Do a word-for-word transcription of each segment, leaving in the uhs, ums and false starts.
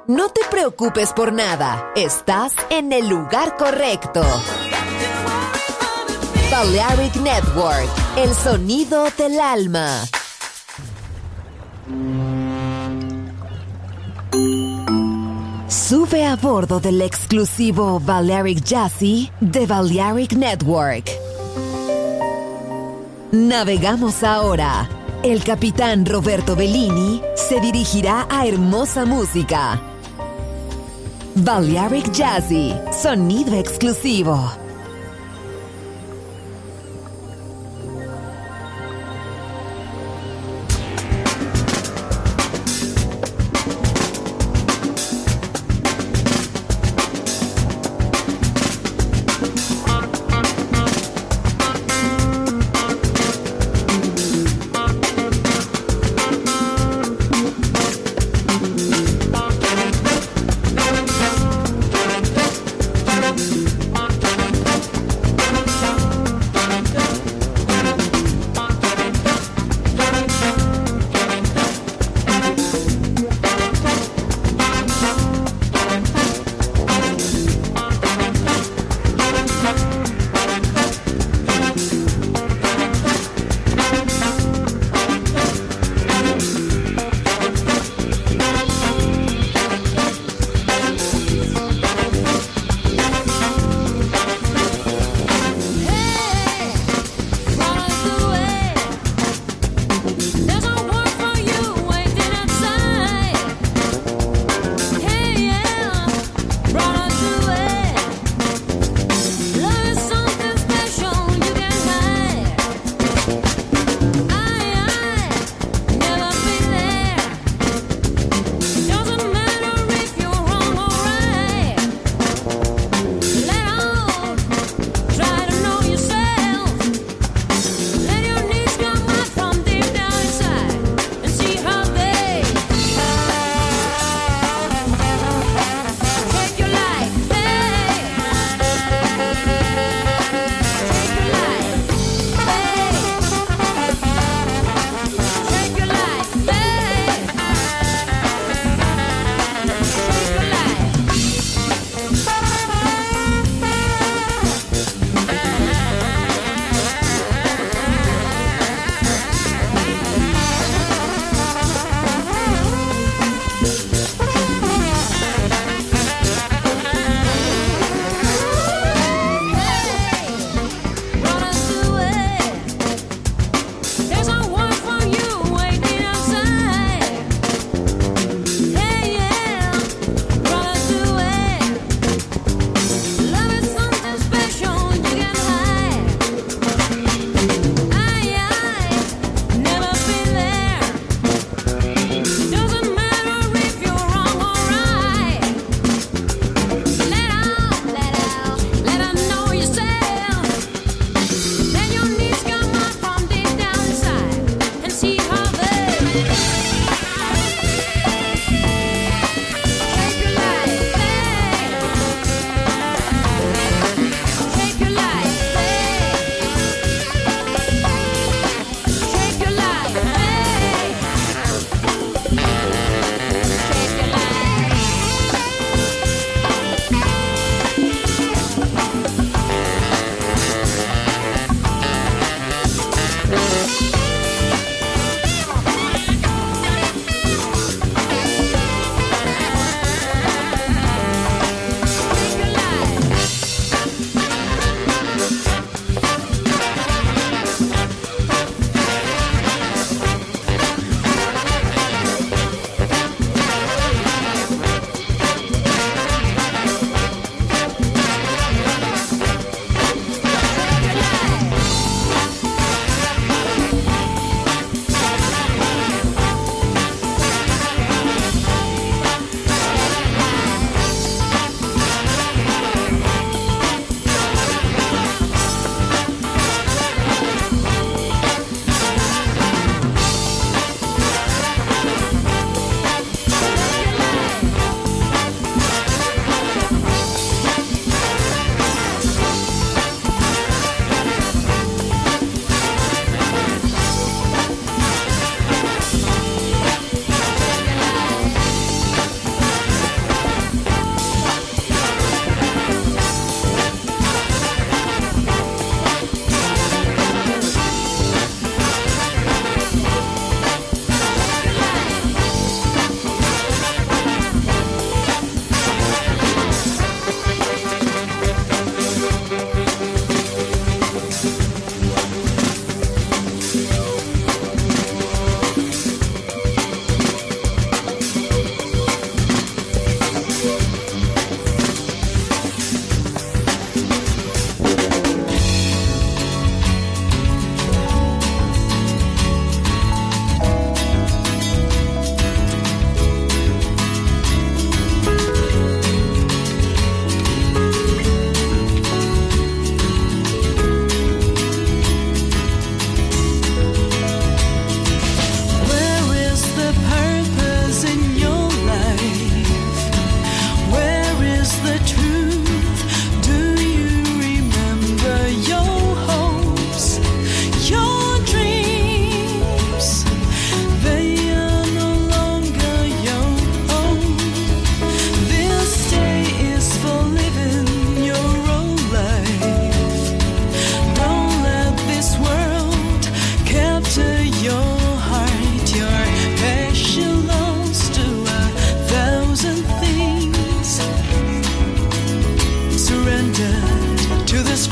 No te preocupes por nada, estás en el lugar correcto. Balearic Network, el sonido del alma. Sube a bordo del exclusivo Balearic Jazzy de Balearic Network. Navegamos ahora. El capitán Roberto Bellini se dirigirá a hermosa música. Balearic Jazzy, sonido exclusivo.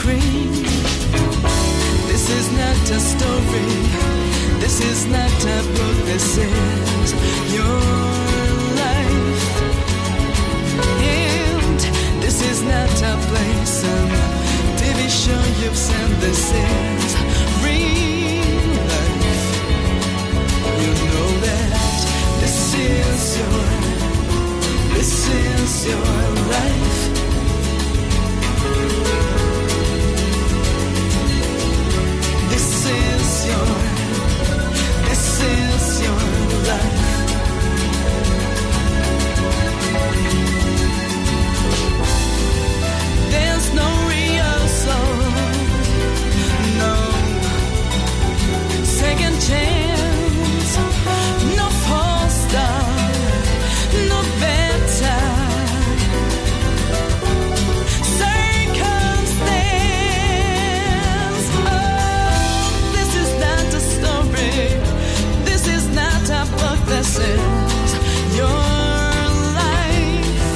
screen. This is not a story. This is not a book. This is your life. And this is not a place, a T V show you've seen. This is real life. You know that this is your, this is your life. This is your, this is your life. There's no rehearsal, no second chance, no false start, no better circumstance. Oh, this is not a story. This is not a book. This is your life.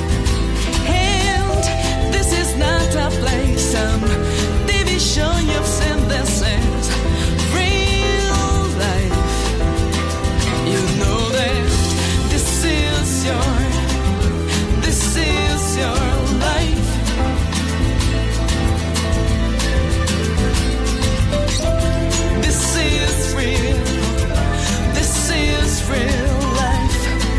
And this is not a place, some T V show you've seen. This is real life. You know that this is your, this is your life. This is real. This is real life.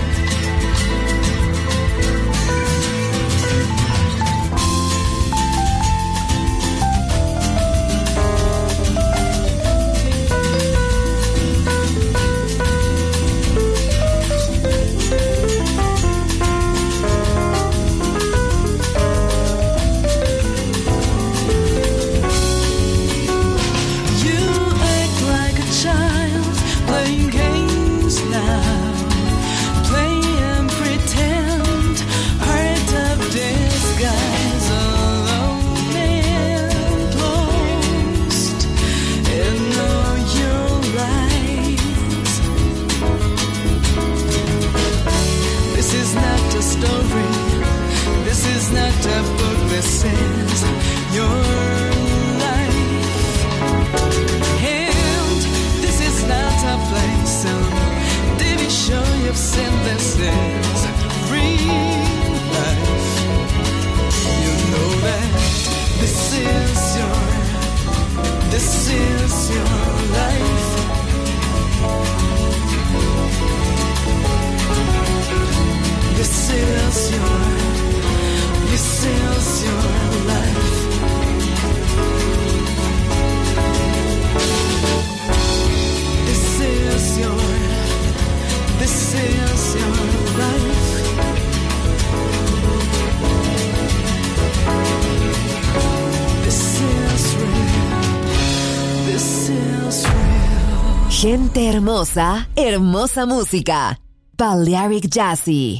You act like a child playing games now, play and pretend, heart of disguise, alone and lost in all your lies. This is not a story. This is not a book. This is your life. And this is not a place, some T V show you've seen. This is real life. You know that this is your, this is your life. This is your, this is your life. This is your, this is your life. This is real. This is real. Gente hermosa, hermosa música. Balearic Jazzy.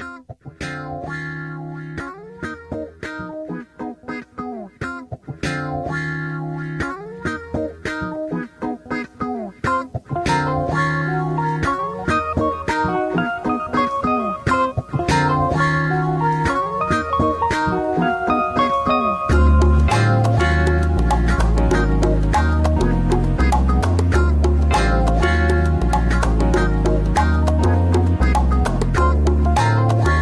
This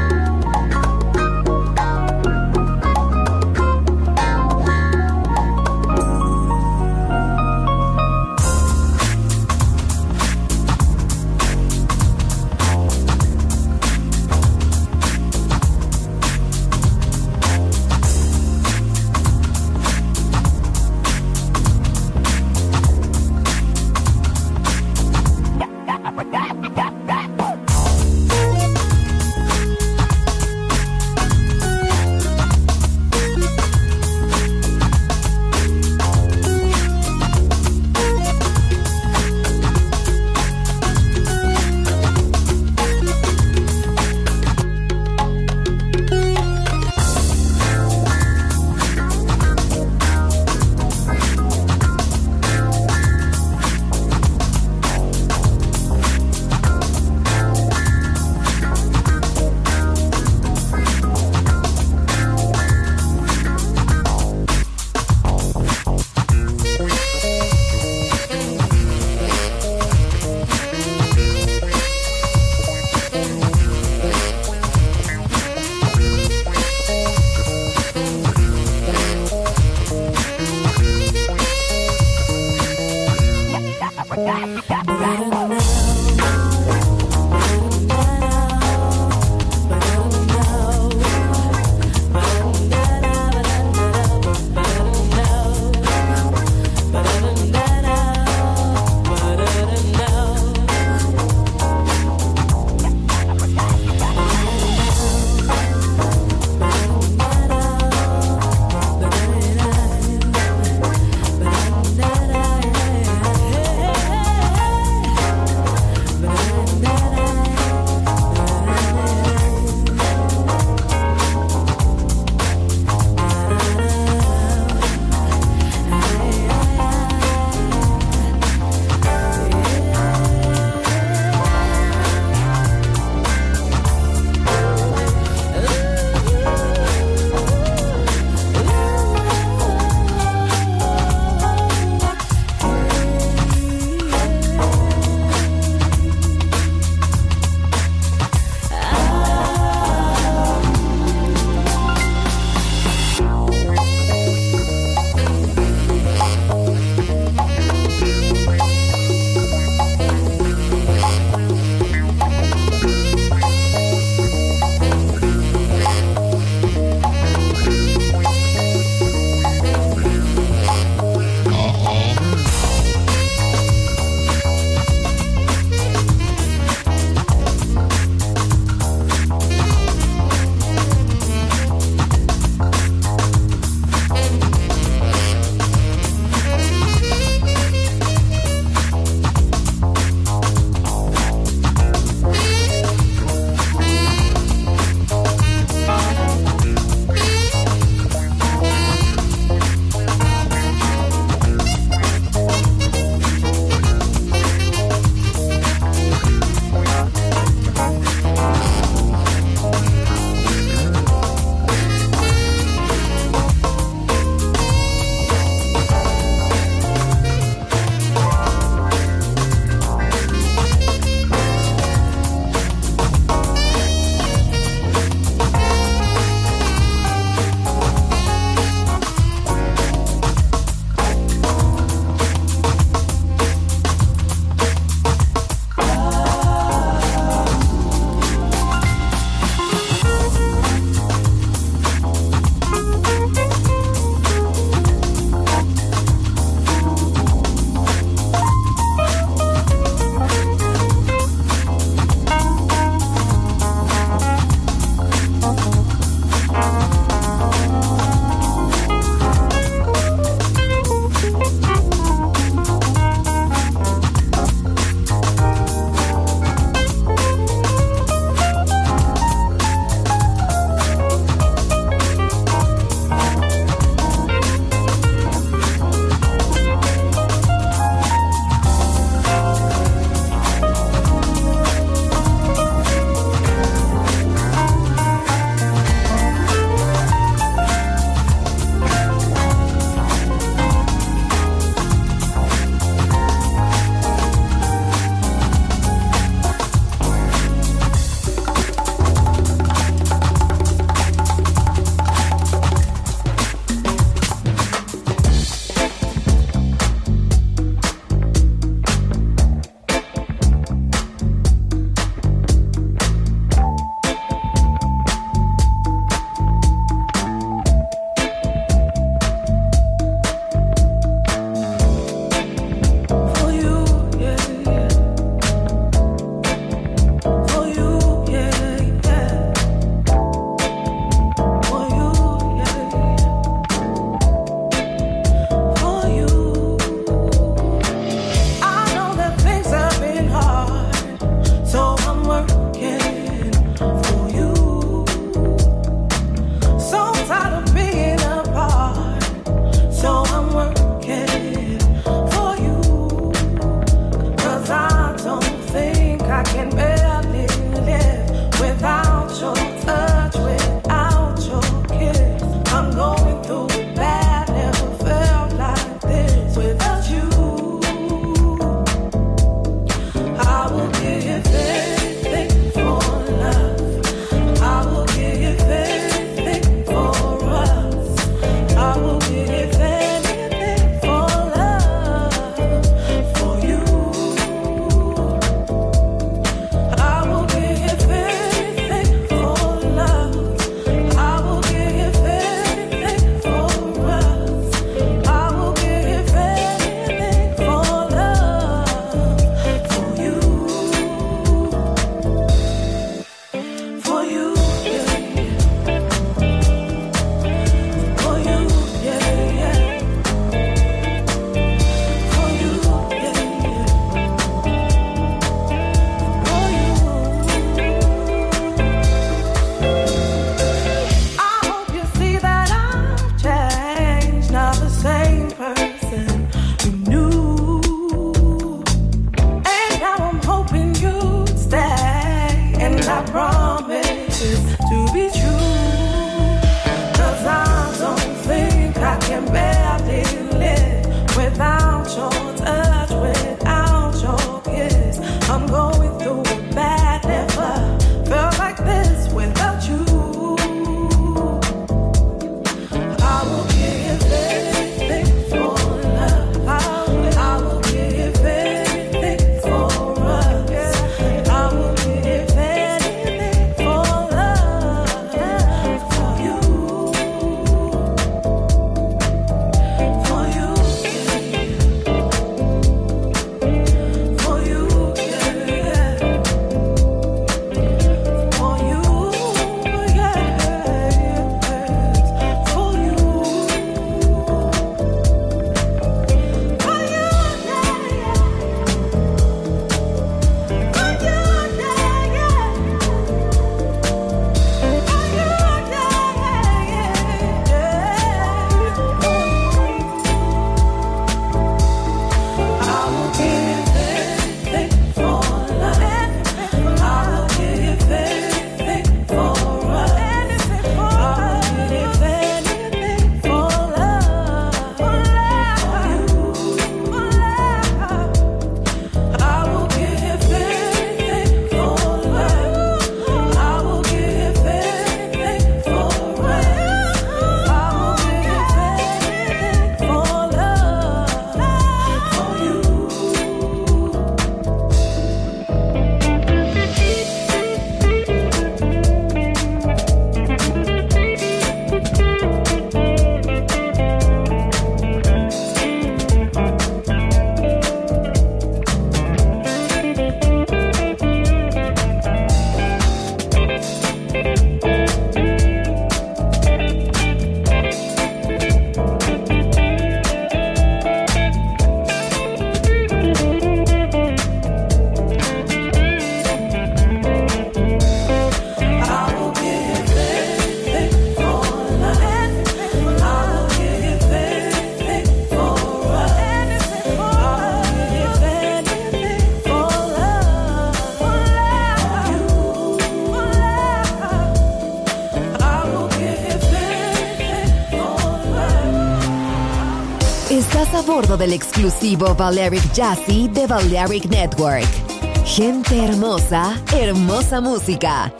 Estás a bordo del exclusivo Balearic Jazzy de Balearic Network. Gente hermosa, hermosa música.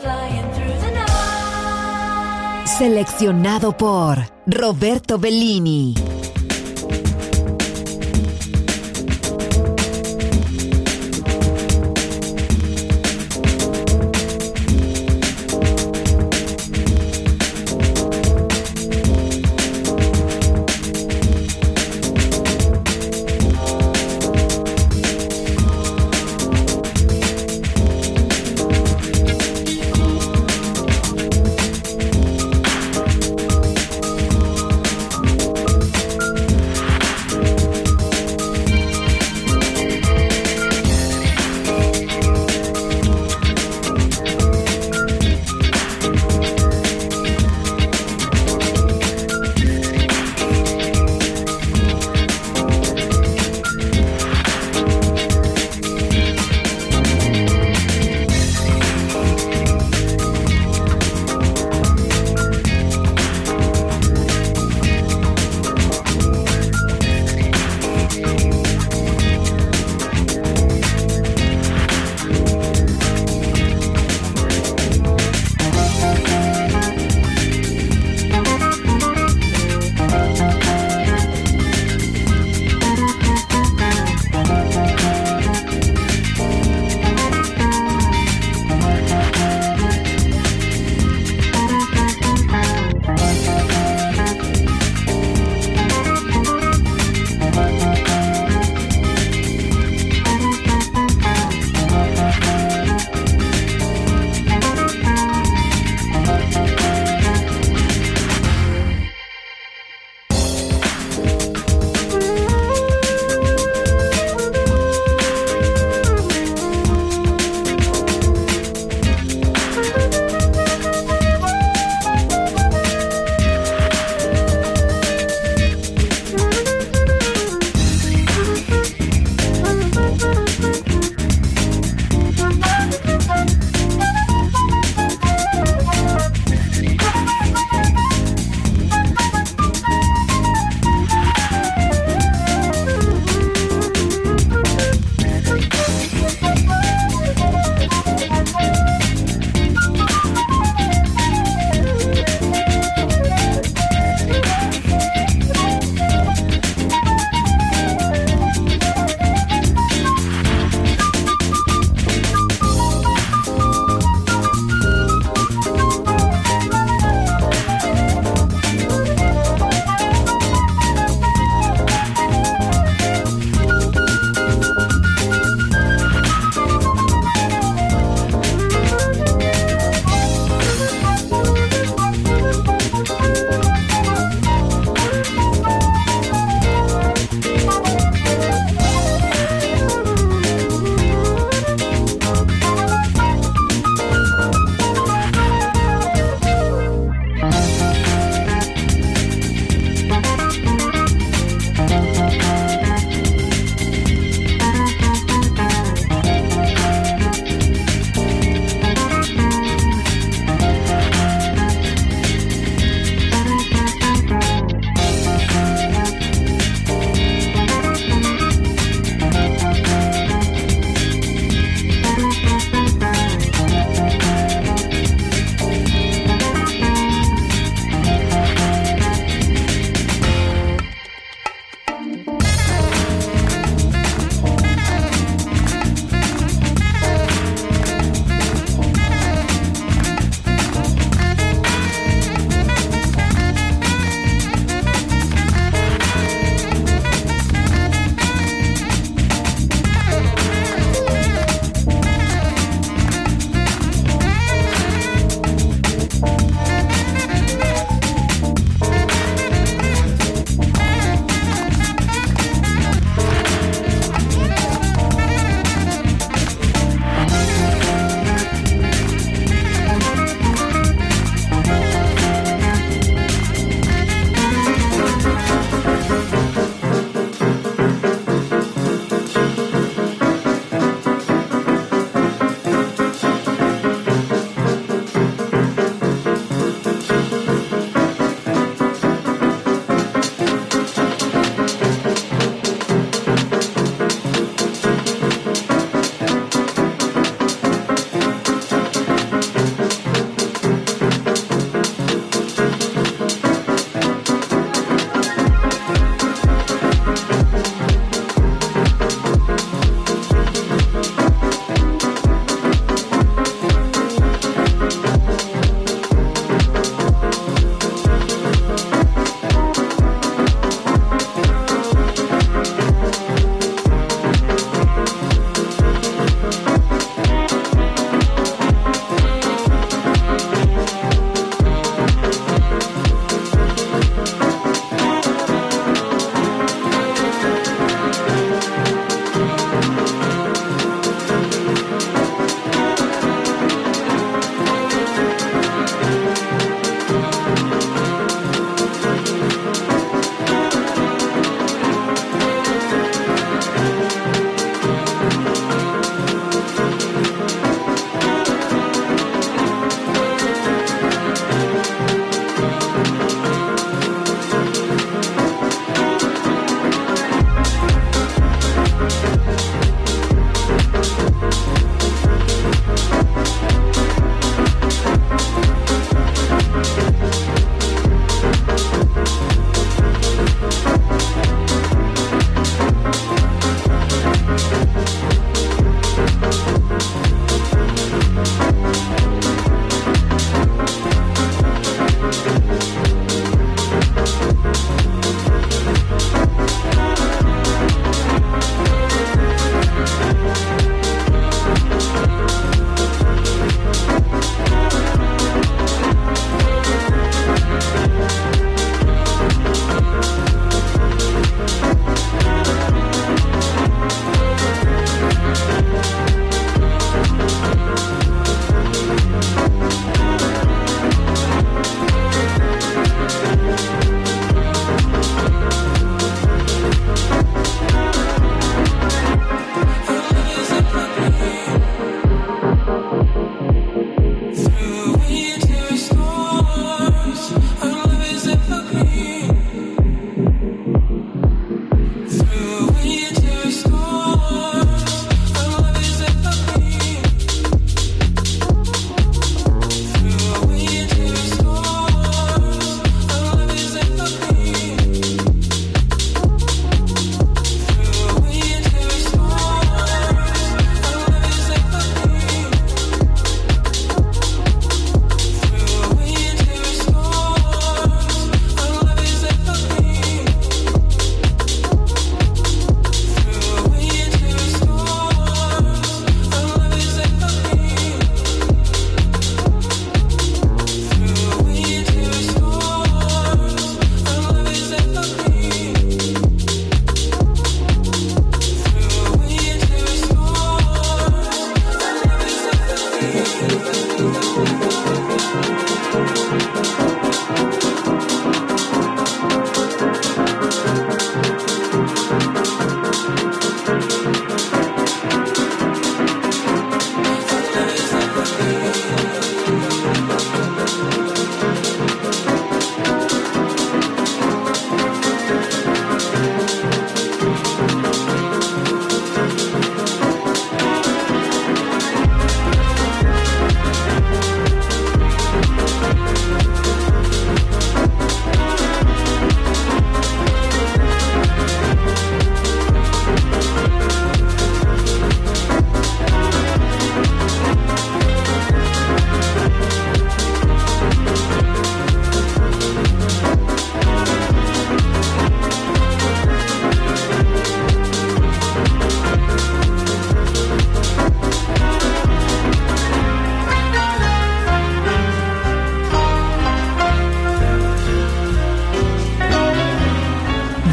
Seleccionado por Roberto Bellini.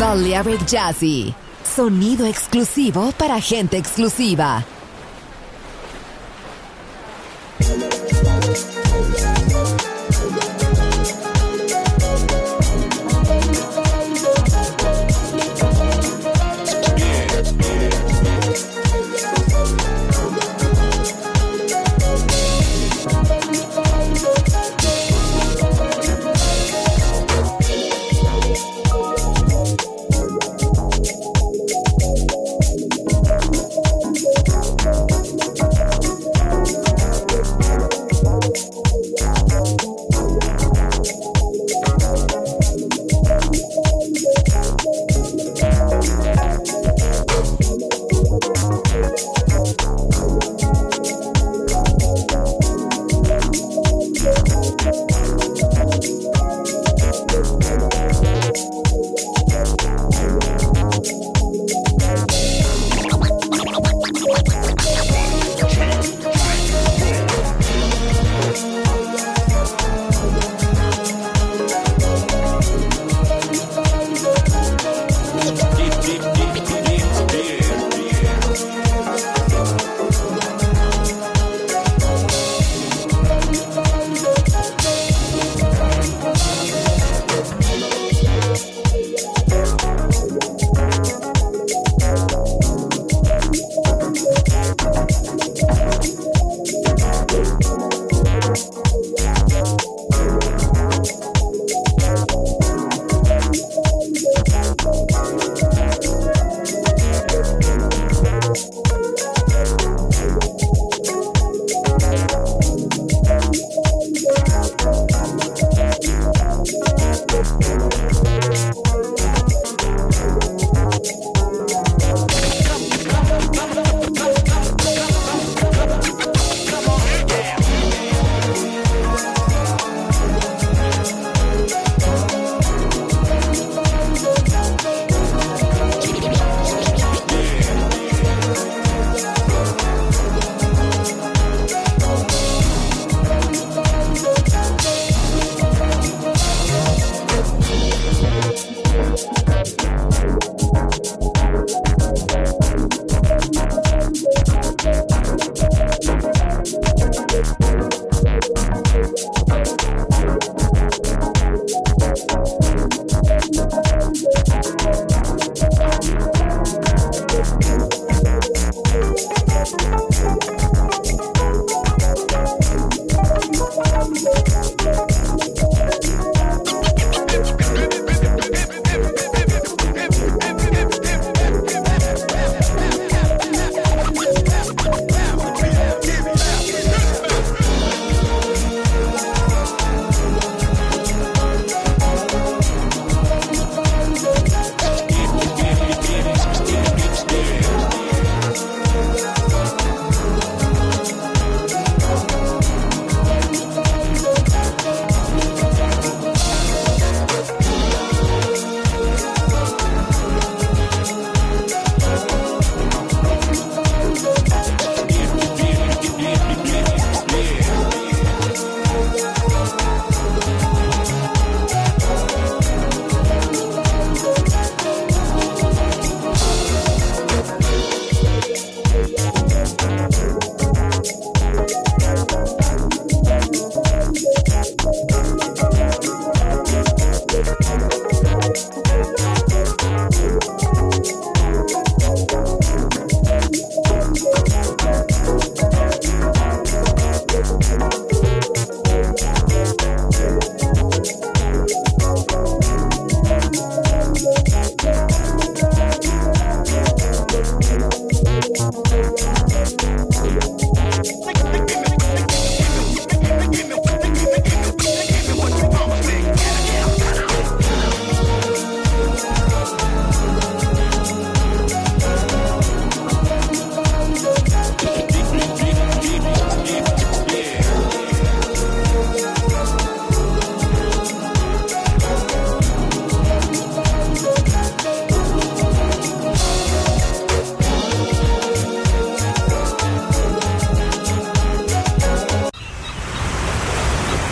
Balearic Jazzy. Sonido exclusivo para gente exclusiva.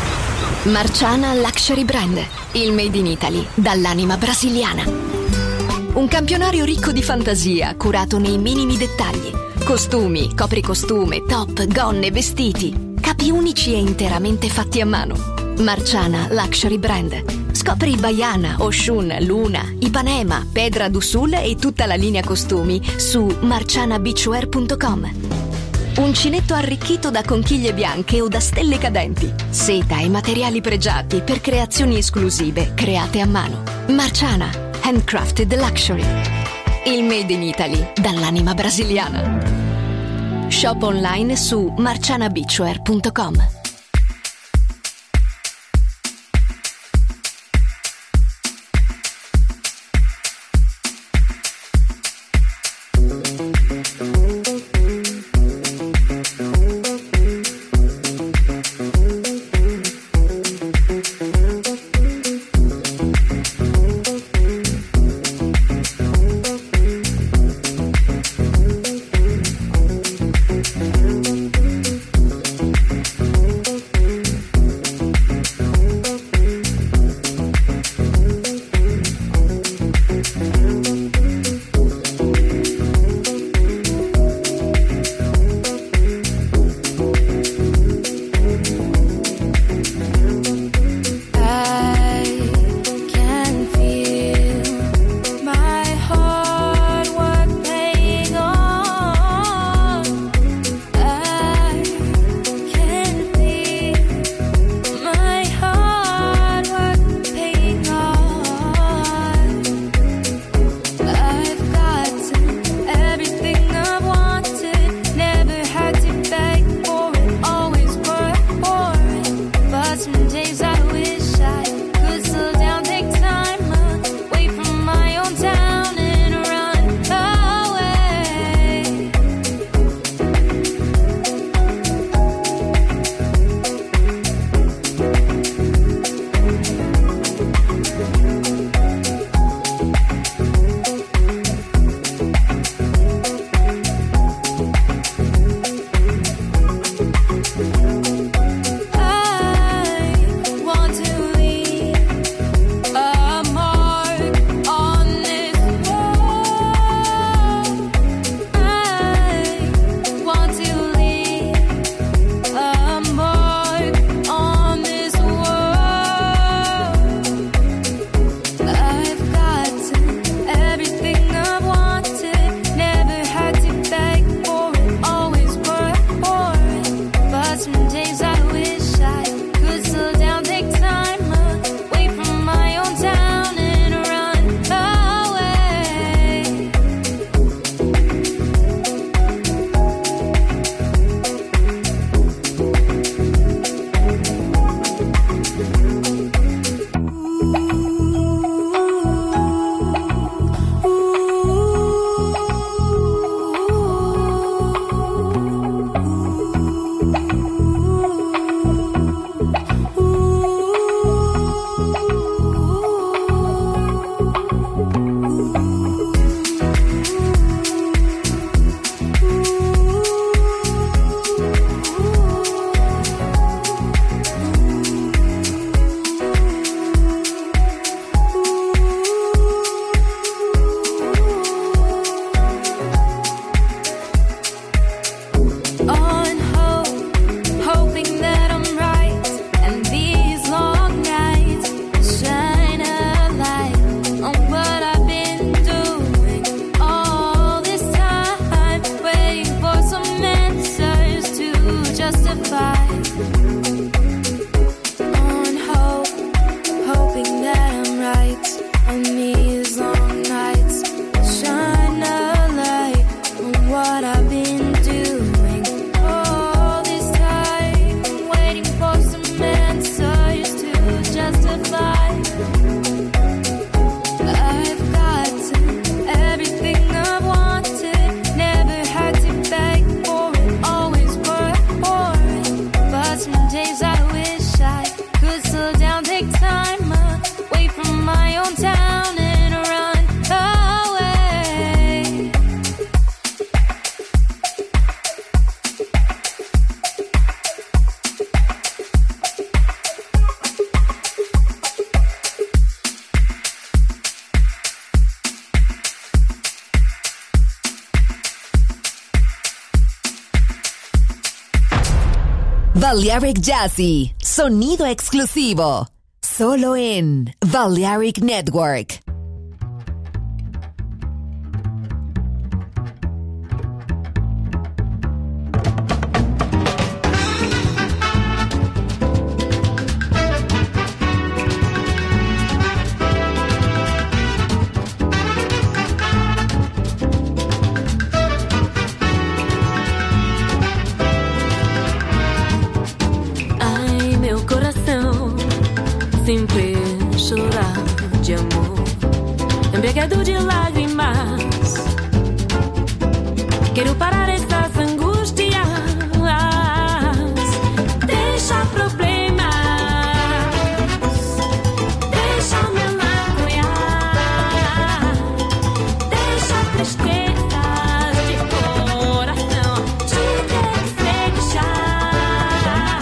Marciana Luxury Brand, il made in Italy dall'anima brasiliana. Un campionario ricco di fantasia, curato nei minimi dettagli. Costumi, copricostume, top, gonne, vestiti. Capi unici e interamente fatti a mano. Marciana Luxury Brand. Scopri Baiana, Oshun, Luna, Ipanema, Pedra do Sul e tutta la linea costumi su marciana beachwear punto com. Uncinetto arricchito da conchiglie bianche o da stelle cadenti. Seta e materiali pregiati per creazioni esclusive create a mano. Marciana, handcrafted luxury. Il made in Italy dall'anima brasiliana. Shop online su marciana beachwear punto com. Balearic Jazzy, sonido exclusivo, solo en Balearic Network. Sempre chorar de amor, embriagado de lágrimas. Quero parar essas angústias, deixa problemas, deixa melancolia, deixa tristezas de coração, te deixar.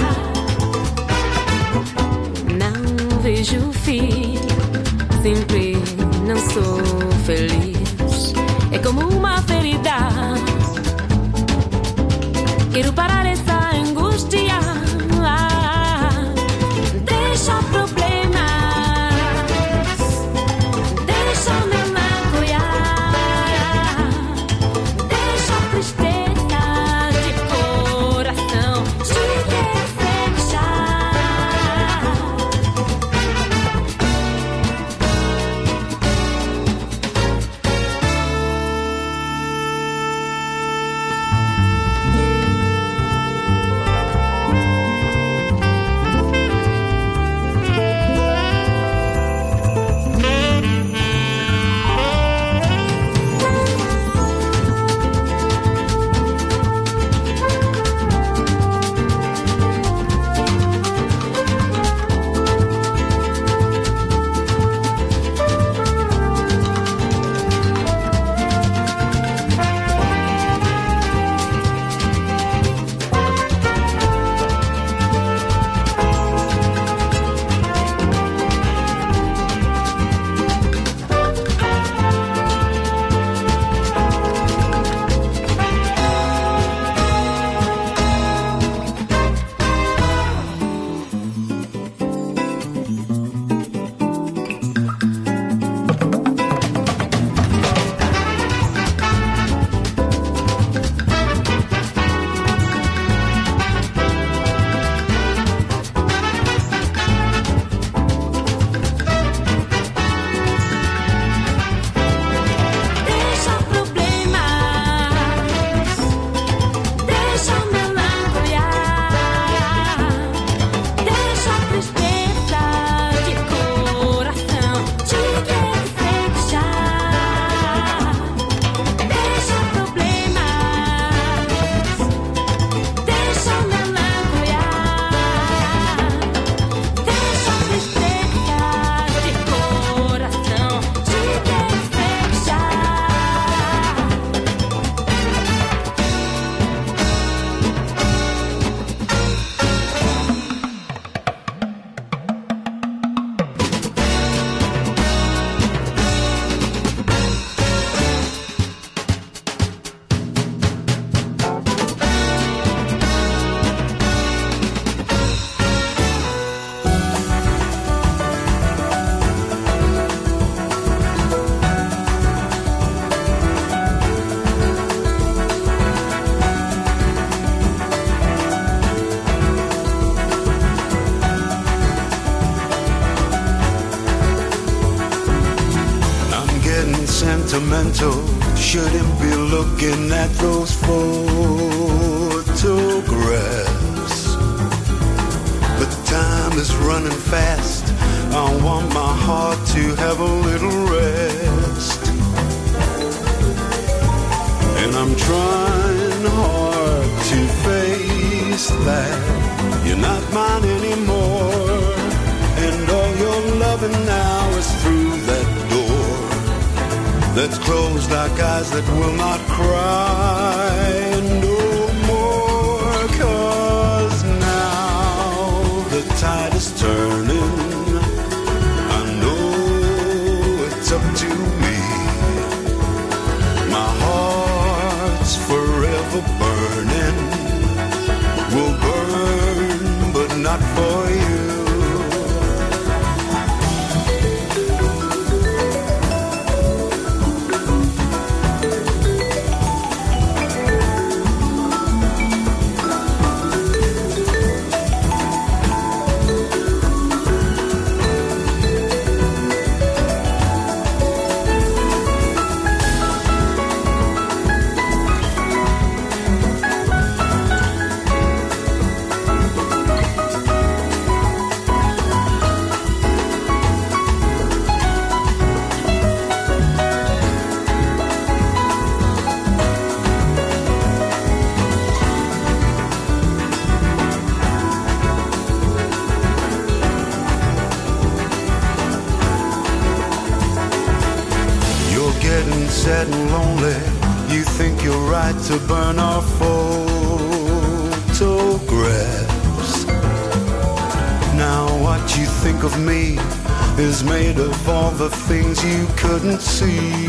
Não vejo o fim, sempre não sou feliz. É como uma ferida. Quero parar essa angústia. Deixa problemas, deixa melancolia, deixa tristeza de coração, te deixar. Sentimental, shouldn't be looking at those photographs. But time is running fast. I want my heart to have a little rest. And I'm trying hard to face that you're not mine anymore. And all your loving now is through that door that's closed like eyes that will not cry no more. 'Cause now the tide is turning. I know it's up to me. My heart's forever burning, will burn getting sad and lonely, you think you're right to burn our photographs. Now what you think of me is made of all the things you couldn't see.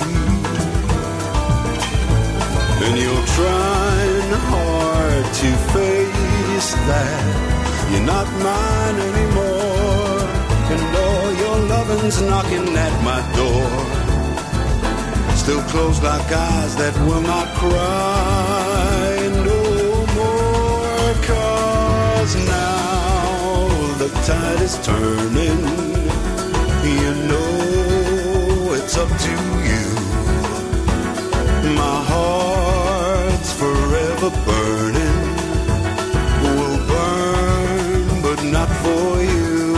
And you're trying hard to face that you're not mine anymore, and all your loving's knocking at my door. Still closed like eyes that will not cry no more. 'Cause now the tide is turning, you know it's up to you. My heart's forever burning, will burn but not for you.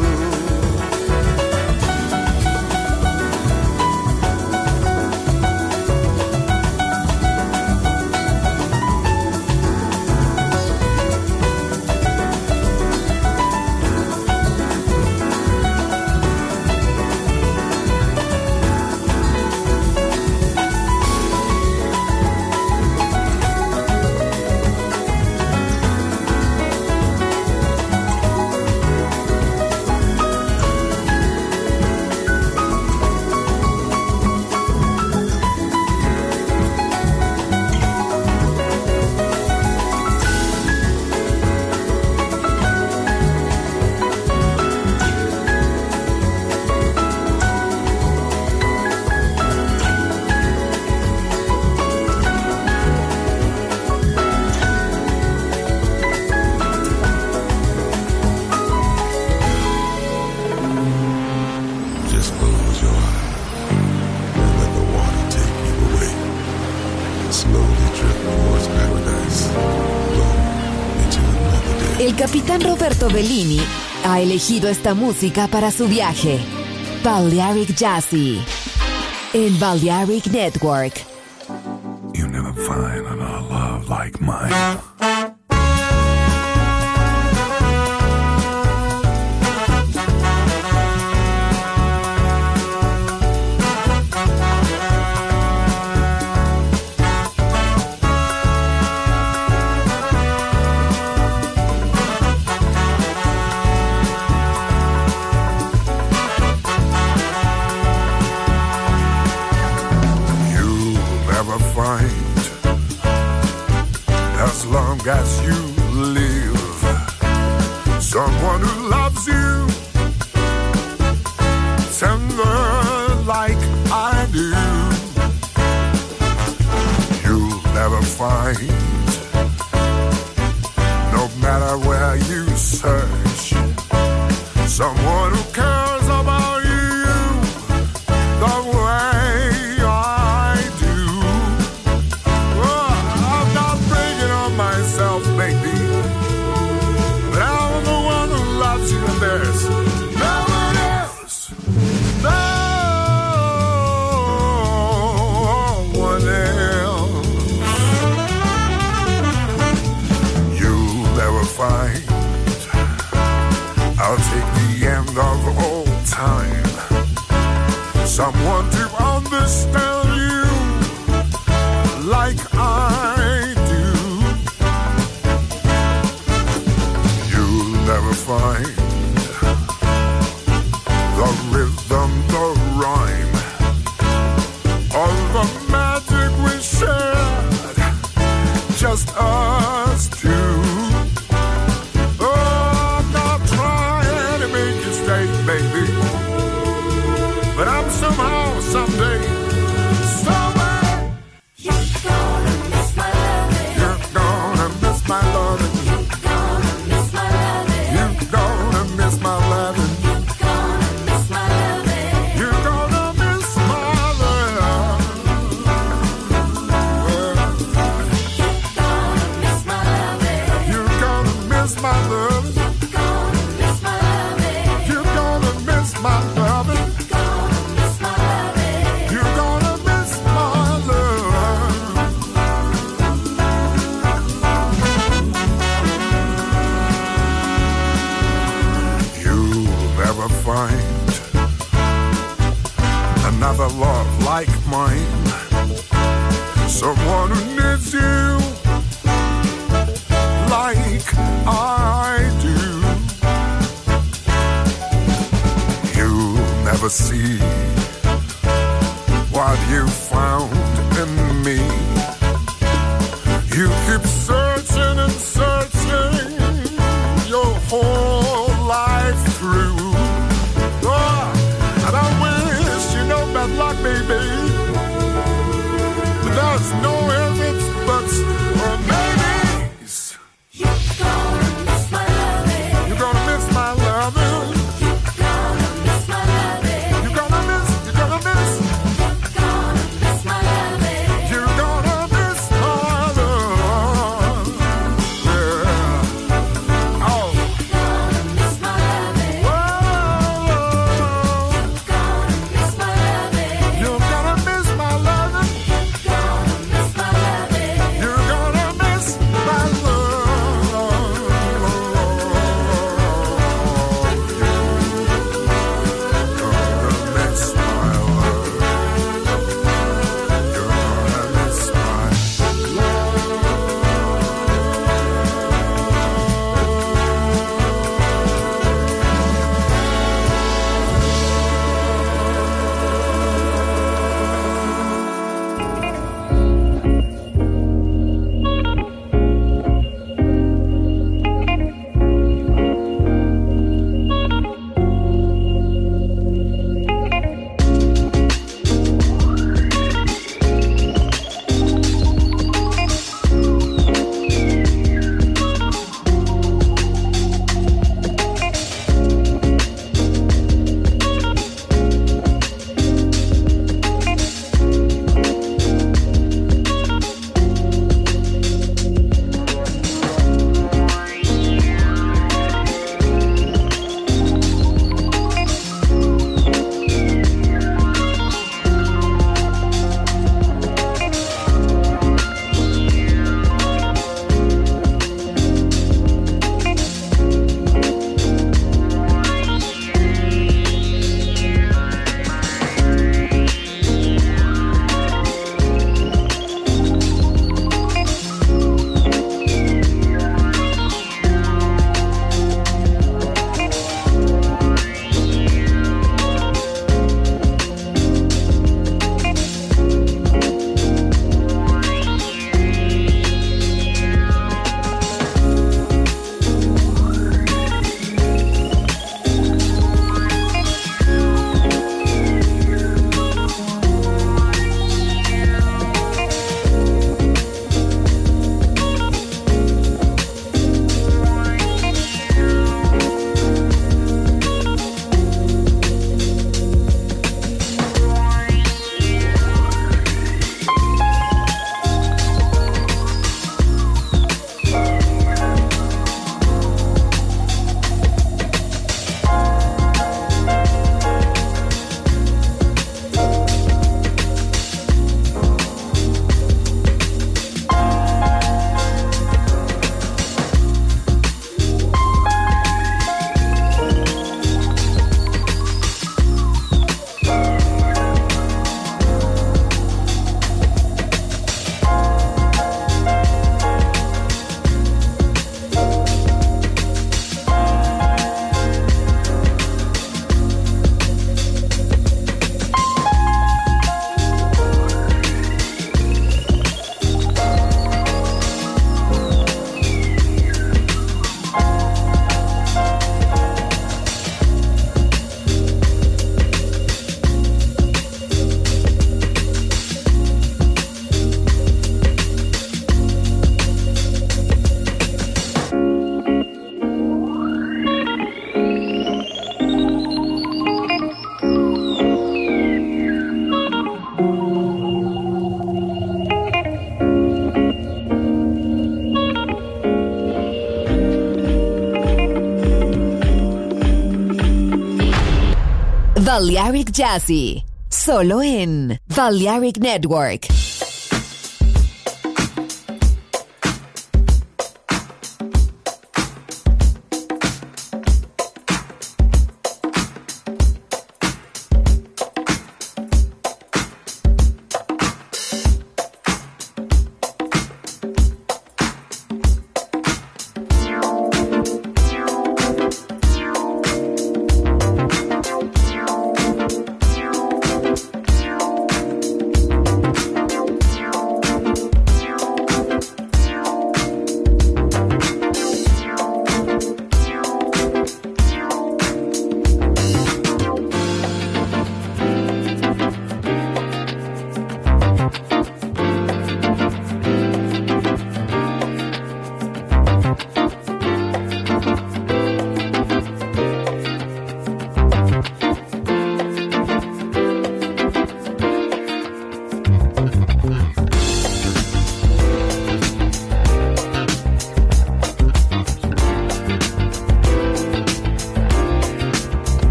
El capitán Roberto Bellini ha elegido esta música para su viaje. Balearic Jazzy en Balearic Network. You never find another love like mine. As long as you live, someone who loves you tender like I do, you'll never find, no matter where you search, someone who cares about you the way I do. Oh, I'm not bragging on myself, baby, but I'm the one who loves you, and there's no one else, no one else. You'll never find, I'll take the end of all time, someone to understand you like I do. You'll never find the rhythm, the rhyme, or the magic we shared, just us two. Oh, I'm not trying to make you stay, baby, but I'm somehow, someday, somewhere, you're gonna miss my loving. You're gonna miss my loving. You're gonna miss my loving. You're gonna miss my loving. You're gonna miss my loving. You're gonna miss my loving. You're gonna miss my loving. You're gonna miss my loving. another love like mine. Someone who needs you like I do. You'll never see what you found in me. You keep searching and searching your whole life through. Oh, and I wish you no bad luck, baby. But there's no ifs, it's buts, or maybes. You're gonna miss my loving. You're gonna miss my loving. You're gonna miss my loving. You're gonna miss, you're gonna miss. You're gonna miss my loving. You're gonna miss my love. Yeah. Oh. You're gonna miss my loving. Whoa. You're gonna miss my loving. You're gonna miss my loving. You're gonna miss my loving. Balearic Jazzy, solo en Balearic Network.